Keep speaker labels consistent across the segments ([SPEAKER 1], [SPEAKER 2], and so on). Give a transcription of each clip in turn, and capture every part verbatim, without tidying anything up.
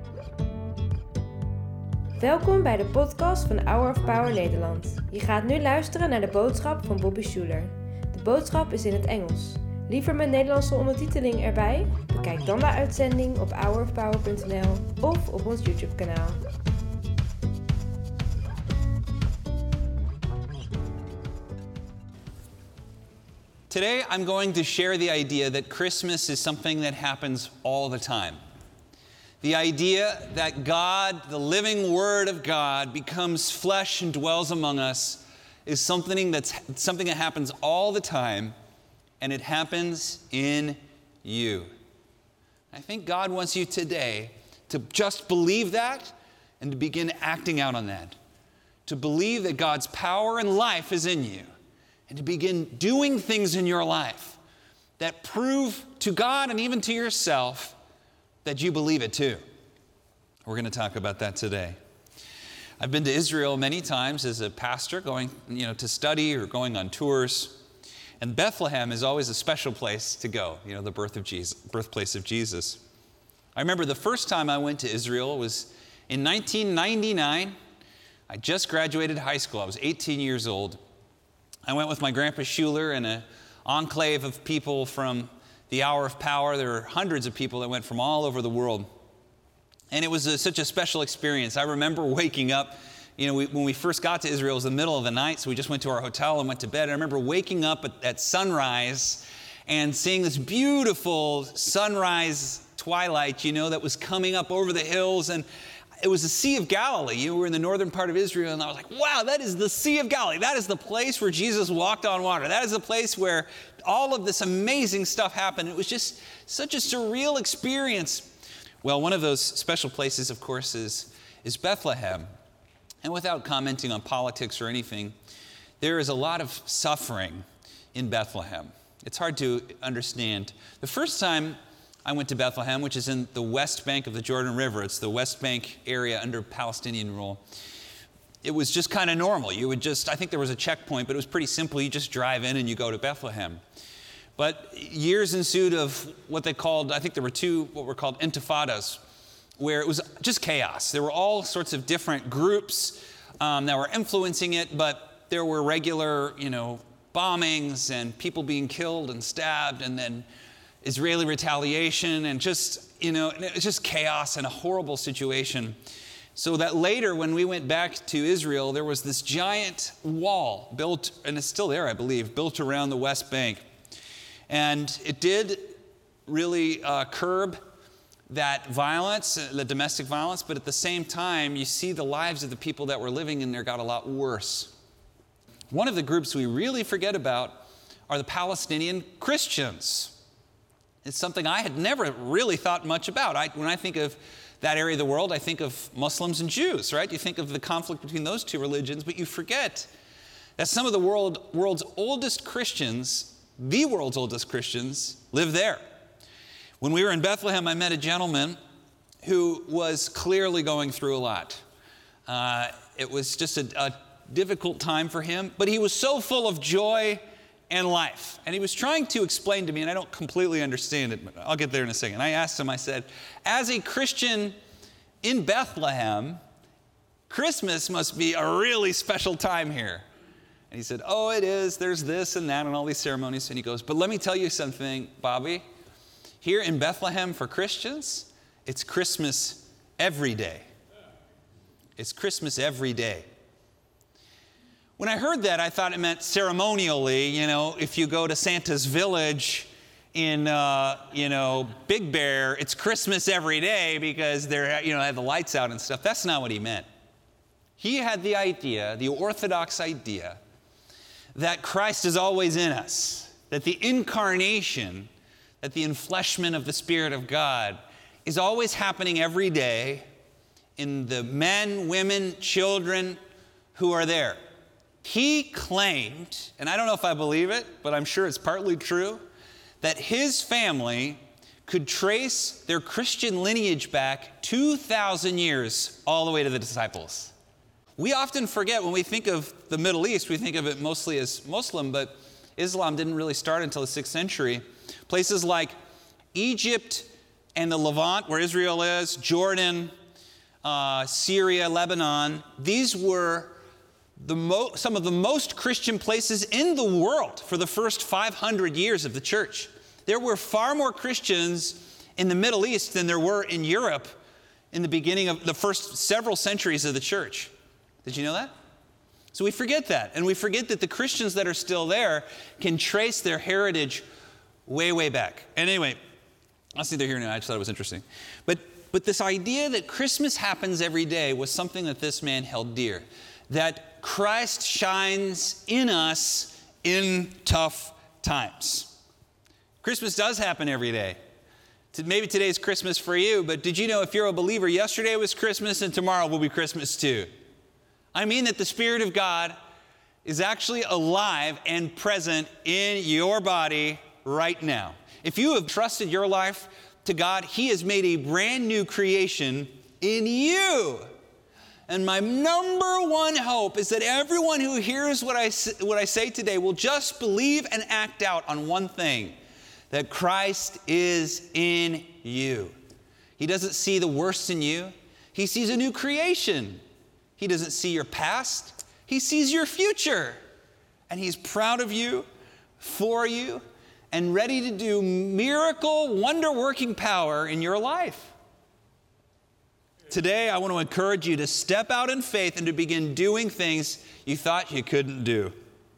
[SPEAKER 1] Welkom bij de podcast van Hour of Power Nederland. Je gaat nu luisteren naar de boodschap van Bobby Schuler. De boodschap is in het Engels. Liever met Nederlandse ondertiteling erbij? Bekijk dan de uitzending op hour of power punt n l of op ons YouTube kanaal.
[SPEAKER 2] Today I'm going to share the idea that Christmas is something that happens all the time. The idea that God, the living Word of God, becomes flesh and dwells among us is something that's something that happens all the time, and it happens in you. I think God wants you today to just believe that and to begin acting out on that. To believe that God's power and life is in you, and to begin doing things in your life that prove to God and even to yourself that you believe it too. We're going to talk about that today. I've been to Israel many times as a pastor, going, you know, to study or going on tours. And Bethlehem is always a special place to go, you know, the birth of Jesus, birthplace of Jesus. I remember the first time I went to Israel was in nineteen ninety-nine. I just graduated high school. I was eighteen years old. I went with my grandpa Schuler and an enclave of people from the Hour of Power. There were hundreds of people that went from all over the world. And it was a, such a special experience. I remember waking up, you know, we, when we first got to Israel, it was the middle of the night, so we just went to our hotel and went to bed. I remember waking up at, at sunrise and seeing this beautiful sunrise twilight, you know, that was coming up over the hills. And it was the Sea of Galilee. You know, we were in the northern part of Israel, and I was like, wow, that is the Sea of Galilee. That is the place where Jesus walked on water. That is the place where all of this amazing stuff happened. It was just such a surreal experience. Well, one of those special places, of course, is, is Bethlehem. And without commenting on politics or anything, there is a lot of suffering in Bethlehem. It's hard to understand. The first time I went to Bethlehem, which is in the west bank of the Jordan River. It's the west bank area under Palestinian rule. It was just kind of normal. You would just, I think there was a checkpoint, but it was pretty simple. You just drive in and you go to Bethlehem. But years ensued of what they called, I think there were two, what were called intifadas, where it was just chaos. There were all sorts of different groups um, that were influencing it, but there were regular, you know, bombings and people being killed and stabbed, and then Israeli retaliation, and just, you know, it was just chaos and a horrible situation. So that later, when we went back to Israel, there was this giant wall built, and it's still there, I believe, built around the West Bank. And it did really uh, curb that violence, the domestic violence, but at the same time, you see the lives of the people that were living in there got a lot worse. One of the groups we really forget about are the Palestinian Christians. It's something I had never really thought much about. I, when I think of that area of the world, I think of Muslims and Jews, right? You think of the conflict between those two religions, but you forget that some of the world, world's oldest Christians, the world's oldest Christians, live there. When we were in Bethlehem, I met a gentleman who was clearly going through a lot. Uh, it was just a, a difficult time for him, but he was so full of joy and life. And he was trying to explain to me, and I don't completely understand it, but I'll get there in a second. I asked him, I said, as a Christian in Bethlehem, Christmas must be a really special time here. And he said, oh, it is. There's this and that and all these ceremonies. And he goes, but let me tell you something, Bobby. Here in Bethlehem for Christians, it's Christmas every day. It's Christmas every day. When I heard that, I thought it meant ceremonially, you know, if you go to Santa's village in, uh, you know, Big Bear, it's Christmas every day because they're, you know, have the lights out and stuff. That's not what he meant. He had the idea, the orthodox idea, that Christ is always in us, that the incarnation, that the enfleshment of the Spirit of God is always happening every day in the men, women, children who are there. He claimed, and I don't know if I believe it, but I'm sure it's partly true, that his family could trace their Christian lineage back two thousand years all the way to the disciples. We often forget when we think of the Middle East, we think of it mostly as Muslim, but Islam didn't really start until the sixth century. Places like Egypt and the Levant, where Israel is, Jordan, uh, Syria, Lebanon. These were the mo- some of the most Christian places in the world for the first five hundred years of the church. There were far more Christians in the Middle East than there were in Europe in the beginning of the first several centuries of the church. Did you know that? So we forget that. And we forget that the Christians that are still there can trace their heritage way, way back. And anyway, that's neither here nor there. I just thought it was interesting. But, but this idea that Christmas happens every day was something that this man held dear. That Christ shines in us in tough times. Christmas does happen every day. Maybe today's Christmas for you, but did you know if you're a believer, yesterday was Christmas and tomorrow will be Christmas too? I mean that the Spirit of God is actually alive and present in your body right now. If you have trusted your life to God, He has made a brand new creation in you. And my number one hope is that everyone who hears what I, what I say today will just believe and act out on one thing, that Christ is in you. He doesn't see the worst in you. He sees a new creation. He doesn't see your past. He sees your future. And He's proud of you, for you, and ready to do miracle, wonder-working power in your life. Today, I want to encourage you to step out in faith and to begin doing things you thought you couldn't do.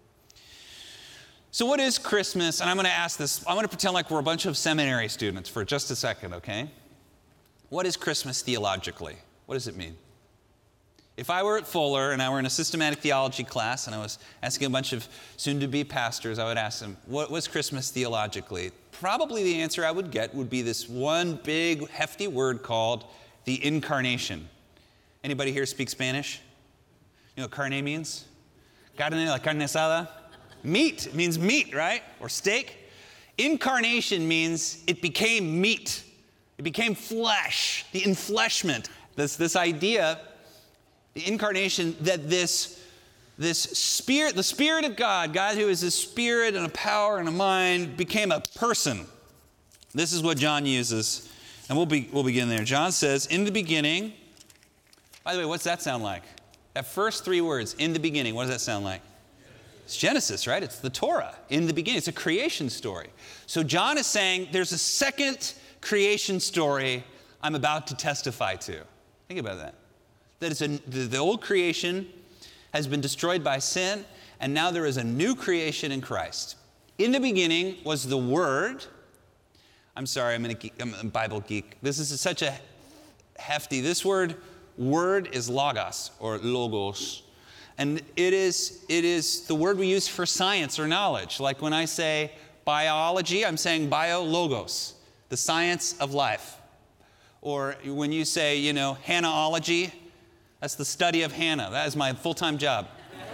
[SPEAKER 2] So what is Christmas? And I'm going to ask this. I'm going to pretend like we're a bunch of seminary students for just a second, okay? What is Christmas theologically? What does it mean? If I were at Fuller and I were in a systematic theology class and I was asking a bunch of soon-to-be pastors, I would ask them, what was Christmas theologically? Probably the answer I would get would be this one big, hefty word called the incarnation. Anybody here speak Spanish? You know what carne means? Carne, la carne asada? Meat. It means meat, right? Or steak. Incarnation means it became meat. It became flesh. The enfleshment. This, this idea, the incarnation, that this, this spirit, the Spirit of God, God who is a spirit and a power and a mind, became a person. This is what John uses. And we'll, be, we'll begin there. John says, in the beginning, by the way, what's that sound like? That first three words, in the beginning, what does that sound like? It's Genesis, right? It's the Torah. In the beginning, it's a creation story. So John is saying there's a second creation story I'm about to testify to. Think about that. That it's a, the, the old creation has been destroyed by sin, and now there is a new creation in Christ. In the beginning was the Word. I'm sorry, I'm, a geek, I'm a Bible geek. This is such a hefty, this word, word is logos, or logos. And it is, it is the word we use for science or knowledge. Like when I say biology, I'm saying biologos, the science of life. Or when you say, you know, Hannahology, that's the study of Hannah. That is my full-time job.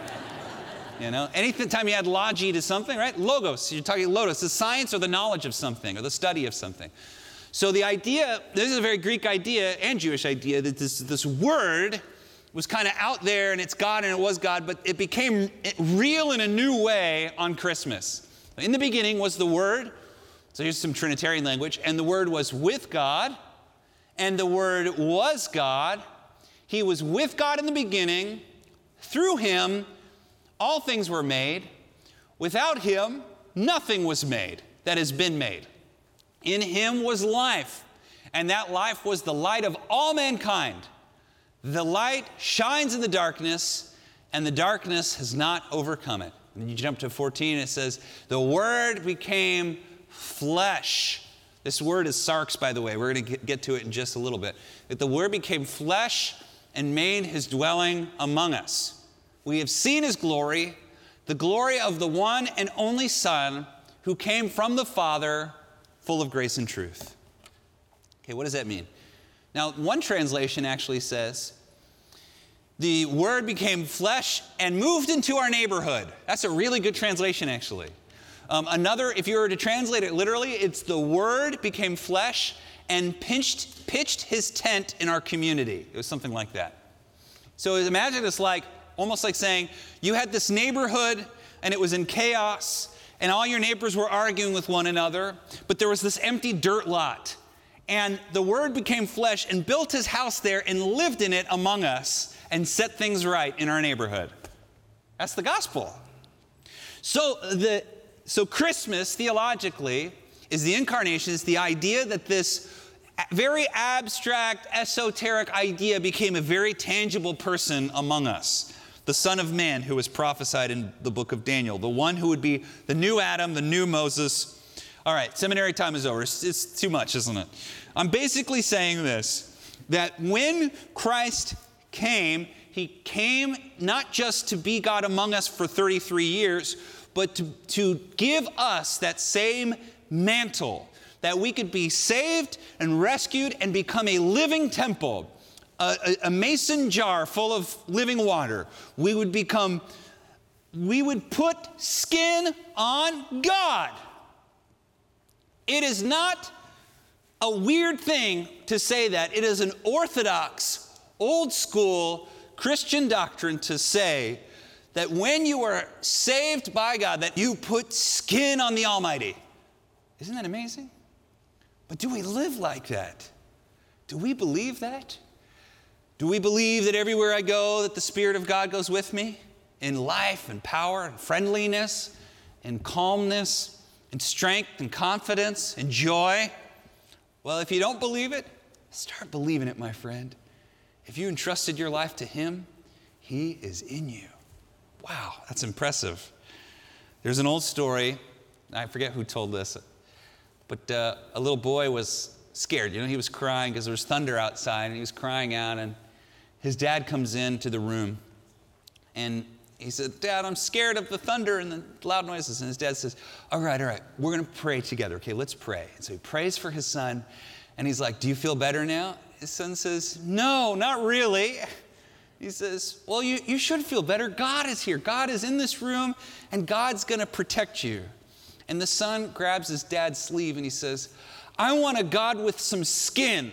[SPEAKER 2] You know, anytime you add logy to something, right? Logos, you're talking logos, the science or the knowledge of something or the study of something. So the idea, this is a very Greek idea and Jewish idea, that this, this word was kind of out there and it's God and it was God, but it became real in a new way on Christmas. In the beginning was the Word, so here's some Trinitarian language, and the Word was with God, and the Word was God. He was with God in the beginning. Through Him, all things were made. Without Him, nothing was made that has been made. In Him was life, and that life was the light of all mankind. The light shines in the darkness, and the darkness has not overcome it. And then you jump to fourteen, and it says, the Word became flesh. This word is sarx, by the way. We're going to get to it in just a little bit. That the Word became flesh and made His dwelling among us. We have seen His glory, the glory of the one and only Son who came from the Father, full of grace and truth. Okay, what does that mean? Now, one translation actually says, the Word became flesh and moved into our neighborhood. That's a really good translation, actually. Um, another, if you were to translate it literally, it's the Word became flesh and pinched, pitched His tent in our community. It was something like that. So imagine it's like, almost like saying, you had this neighborhood and it was in chaos and all your neighbors were arguing with one another, but there was this empty dirt lot. And the Word became flesh and built his house there and lived in it among us and set things right in our neighborhood. That's the gospel. So the so Christmas, theologically, is the incarnation. It's the idea that this very abstract, esoteric idea became a very tangible person among us. The Son of Man who was prophesied in the book of Daniel. The one who would be the new Adam, the new Moses. All right, seminary time is over. It's, it's too much, isn't it? I'm basically saying this, that when Christ came, he came not just to be God among us for thirty-three years, but to, to give us that same mantle, that we could be saved and rescued and become a living temple, a, a, a mason jar full of living water. We would become, we would put skin on God. It is not a weird thing to say that. It is an orthodox, old school Christian doctrine to say that when you are saved by God, that you put skin on the Almighty. Isn't that amazing? But do we live like that? Do we believe that? Do we believe that everywhere I go, that the Spirit of God goes with me in life and power and friendliness and calmness and strength and confidence and joy? Well, if you don't believe it, start believing it, my friend. If you entrusted your life to him, he is in you. Wow, that's impressive. There's an old story. I forget who told this. But uh, a little boy was scared. You know, he was crying because there was thunder outside, and he was crying out. And his dad comes into the room, and he said, "Dad, I'm scared of the thunder and the loud noises." And his dad says, all right, all right, we're going to pray together. Okay, let's pray. And so he prays for his son, and he's like, "Do you feel better now?" His son says, "No, not really." He says, "Well, you, you should feel better. God is here. God is in this room, and God's going to protect you." And the son grabs his dad's sleeve and he says, "I want a God with some skin."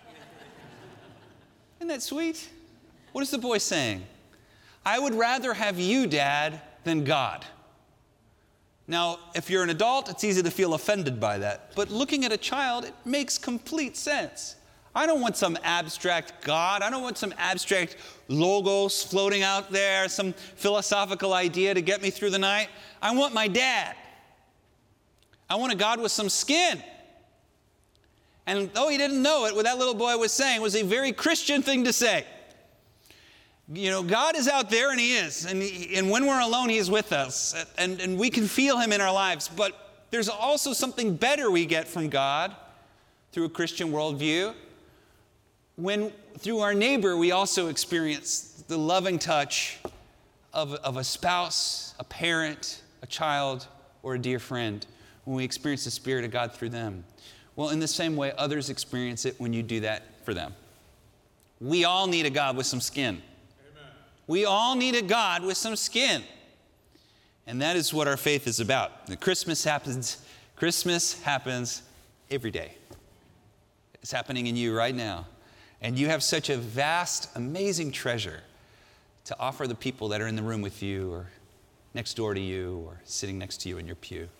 [SPEAKER 2] Isn't that sweet? What is the boy saying? I would rather have you, Dad, than God. Now, if you're an adult, it's easy to feel offended by that. But looking at a child, it makes complete sense. I don't want some abstract God. I don't want some abstract logos floating out there, some philosophical idea to get me through the night. I want my dad. I want a God with some skin. And though he didn't know it, what that little boy was saying was a very Christian thing to say. You know, God is out there, and he is. And, he, and when we're alone, he is with us. And, and we can feel him in our lives. But there's also something better we get from God through a Christian worldview. When through our neighbor, we also experience the loving touch of, of a spouse, a parent, a child, or a dear friend, when we experience the Spirit of God through them. Well, in the same way, others experience it when you do that for them. We all need a God with some skin. Amen. We all need a God with some skin. And that is what our faith is about. And Christmas happens, Christmas happens every day. It's happening in you right now. And you have such a vast, amazing treasure to offer the people that are in the room with you or next door to you or sitting next to you in your pew.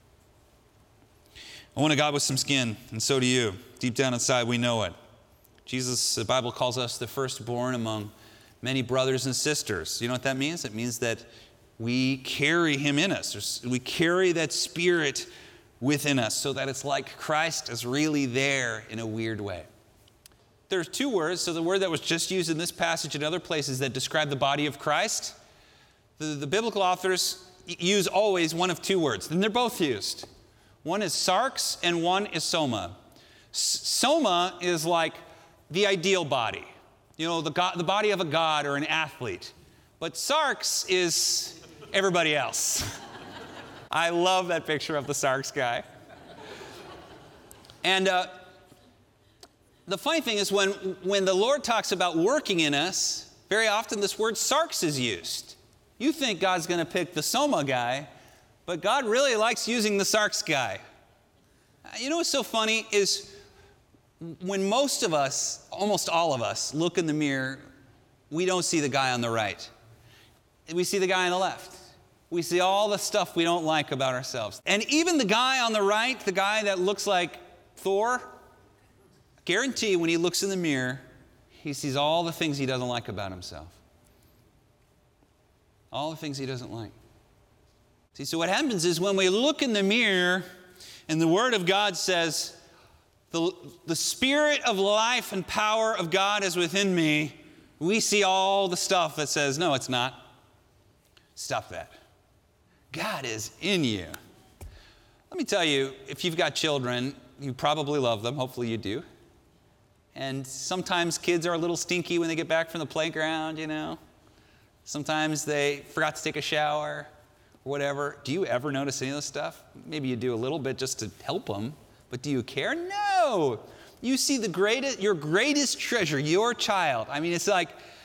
[SPEAKER 2] I want a God with some skin, and so do you. Deep down inside, we know it. Jesus, the Bible calls us the firstborn among many brothers and sisters. You know what that means? It means that we carry him in us. There's, we carry that Spirit within us so that it's like Christ is really there in a weird way. There's two words. So the word that was just used in this passage and other places that describe the body of Christ, the, the biblical authors use always one of two words, and they're both used. One is sarx and one is soma. Soma is like the ideal body, you know, the, God, the body of a god or an athlete. But sarx is everybody else. I love that picture of the sarx guy. And uh, the funny thing is when, when the Lord talks about working in us, very often this word sarx is used. You think God's going to pick the soma guy, but God really likes using the sarx guy. You know what's so funny is when most of us, almost all of us, look in the mirror, we don't see the guy on the right. We see the guy on the left. We see all the stuff we don't like about ourselves. And even the guy on the right, the guy that looks like Thor, guarantee when he looks in the mirror, he sees all the things he doesn't like about himself. All the things he doesn't like. See, so what happens is when we look in the mirror and the Word of God says, the, the Spirit of life and power of God is within me, we see all the stuff that says, no, it's not. Stop that. God is in you. Let me tell you, if you've got children, you probably love them. Hopefully you do. And sometimes kids are a little stinky when they get back from the playground, you know. Sometimes they forgot to take a shower or whatever. Do you ever notice any of this stuff? Maybe you do a little bit just to help them. But do you care? No. You see the greatest, your greatest treasure, your child. I mean, it's like,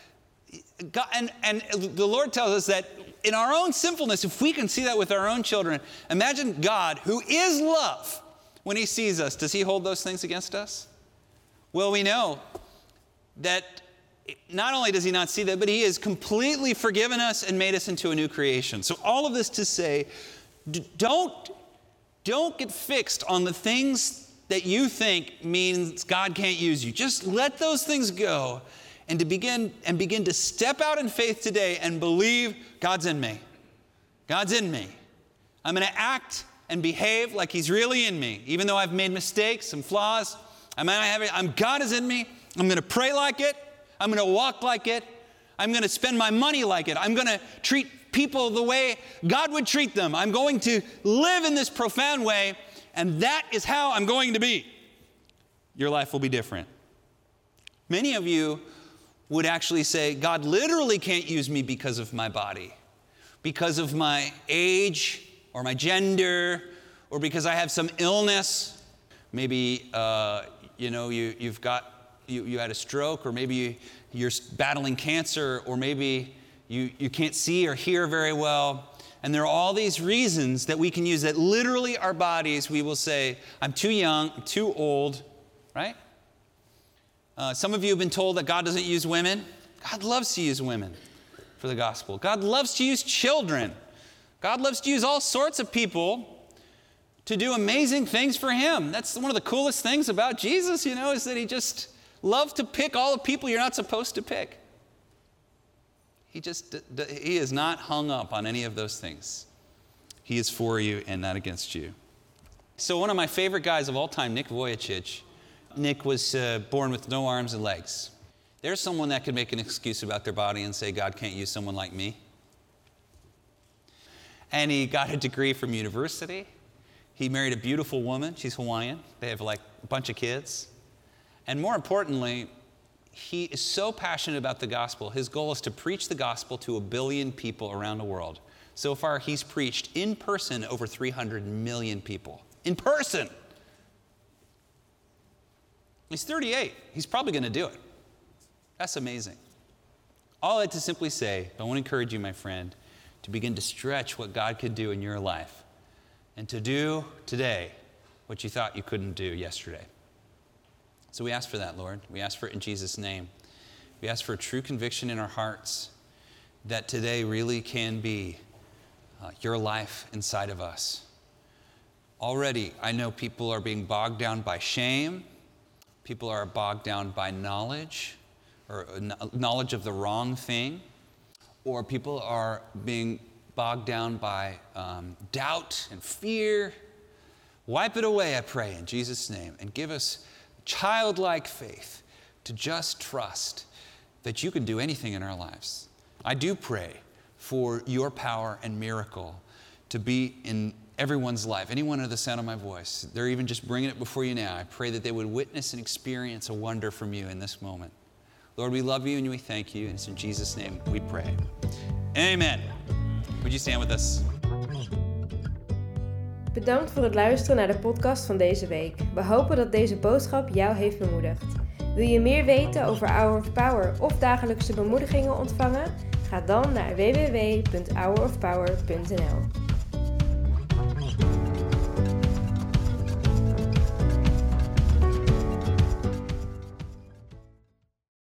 [SPEAKER 2] God, and, and the Lord tells us that in our own sinfulness, if we can see that with our own children, imagine God, who is love, when he sees us, does he hold those things against us? Well, we know that not only does he not see that, but he has completely forgiven us and made us into a new creation. So all of this to say, don't, don't get fixed on the things that you think means God can't use you. Just let those things go and to begin and begin to step out in faith today and believe God's in me. God's in me. I'm going to act and behave like he's really in me. Even though I've made mistakes and flaws, I'm, I'm, God is in me. I'm going to pray like it. I'm going to walk like it. I'm going to spend my money like it. I'm going to treat people the way God would treat them. I'm going to live in this profound way, and that is how I'm going to be. Your life will be different. Many of you would actually say, God literally can't use me because of my body, because of my age or my gender, or because I have some illness. Maybe, uh, you know, you, you've got, you, you had a stroke, or maybe you, you're battling cancer, or maybe you, you can't see or hear very well. And there are all these reasons that we can use that literally our bodies, we will say, I'm too young, I'm too old, right? Uh, some of you have been told that God doesn't use women. God loves to use women for the gospel. God loves to use children. God loves to use all sorts of people to do amazing things for him. That's one of the coolest things about Jesus, you know, is that he just loved to pick all the people you're not supposed to pick. He just, he is not hung up on any of those things. He is for you and not against you. So one of my favorite guys of all time, Nick Vujicic, Nick was uh, born with no arms and legs. There's someone that could make an excuse about their body and say, God can't use someone like me. And he got a degree from university. He married a beautiful woman. She's Hawaiian. They have like a bunch of kids. And more importantly, he is so passionate about the gospel. His goal is to preach the gospel to a billion people around the world. So far, he's preached in person over three hundred million people. In person! He's thirty-eight. He's probably going to do it. That's amazing. All I had to simply say, I want to encourage you, my friend, to begin to stretch what God could do in your life and to do today what you thought you couldn't do yesterday. So we ask for that, Lord. We ask for it in Jesus' name. We ask for a true conviction in our hearts that today really can be uh, your life inside of us. Already, I know people are being bogged down by shame. People are bogged down by knowledge, or knowledge of the wrong thing. Or people are being bogged down by um, doubt and fear. Wipe it away, I pray, in Jesus' name, and give us childlike faith to just trust that you can do anything in our lives. I do pray for your power and miracle to be in everyone's life, anyone under the sound of my voice. They're even just bringing it before you now. I pray that they would witness and experience a wonder from you in this moment. Lord, we love you and we thank you, and it's in Jesus' name we pray. Amen. Would you stand with us?
[SPEAKER 1] Bedankt voor het luisteren naar de podcast van deze week. We hopen dat deze boodschap jou heeft bemoedigd. Wil je meer weten over Hour of Power of dagelijkse bemoedigingen ontvangen? Ga dan naar w w w punt hour of power punt n l.